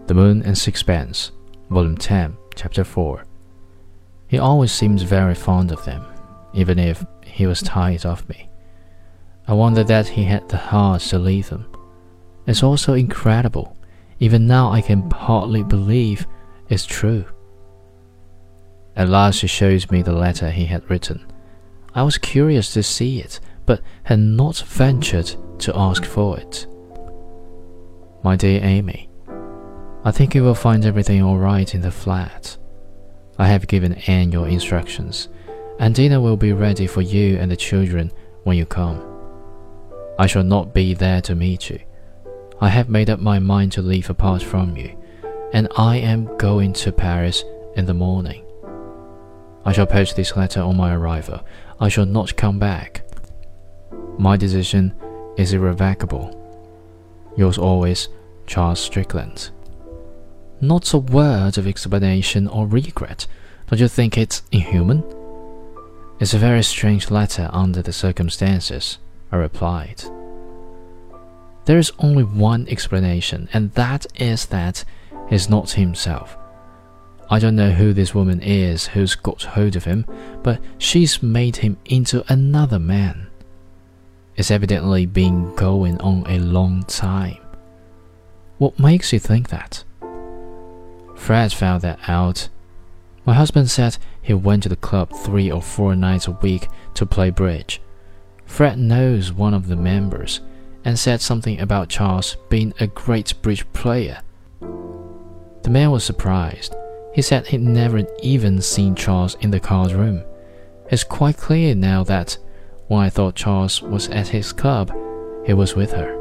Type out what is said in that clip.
The Moon and Sixpence, Volume 10, Chapter 4. He always seems very fond of them, even if he was tired of me. I wonder that he had the heart to leave them. It's all so incredible. Even now I can hardly believe it's true. At last he shows me the letter he had written. I was curious to see it, but had not ventured to ask for it. My dear Amy, I think you will find everything all right in the flat. I have given Anne your instructions, and dinner will be ready for you and the children when you come. I shall not be there to meet you. I have made up my mind to live apart from you, and I am going to Paris in the morning. I shall post this letter on my arrival. I shall not come back. My decision is irrevocable. Yours always, Charles Strickland. Not a word of explanation or regret. Don't you think it's inhuman? It's a very strange letter under the circumstances, I replied. There is only one explanation, and that is that he's not himself. I don't know who this woman is who's got hold of him, but she's made him into another man. It's evidently been going on a long time. What makes you think that? Fred found that out. My husband said he went to the club 3 or 4 nights a week to play bridge. Fred knows one of the members, and said something about Charles being a great bridge player. The man was surprised. He said he'd never even seen Charles in the card room. It's quite clear now that when I thought Charles was at his club, he was with her.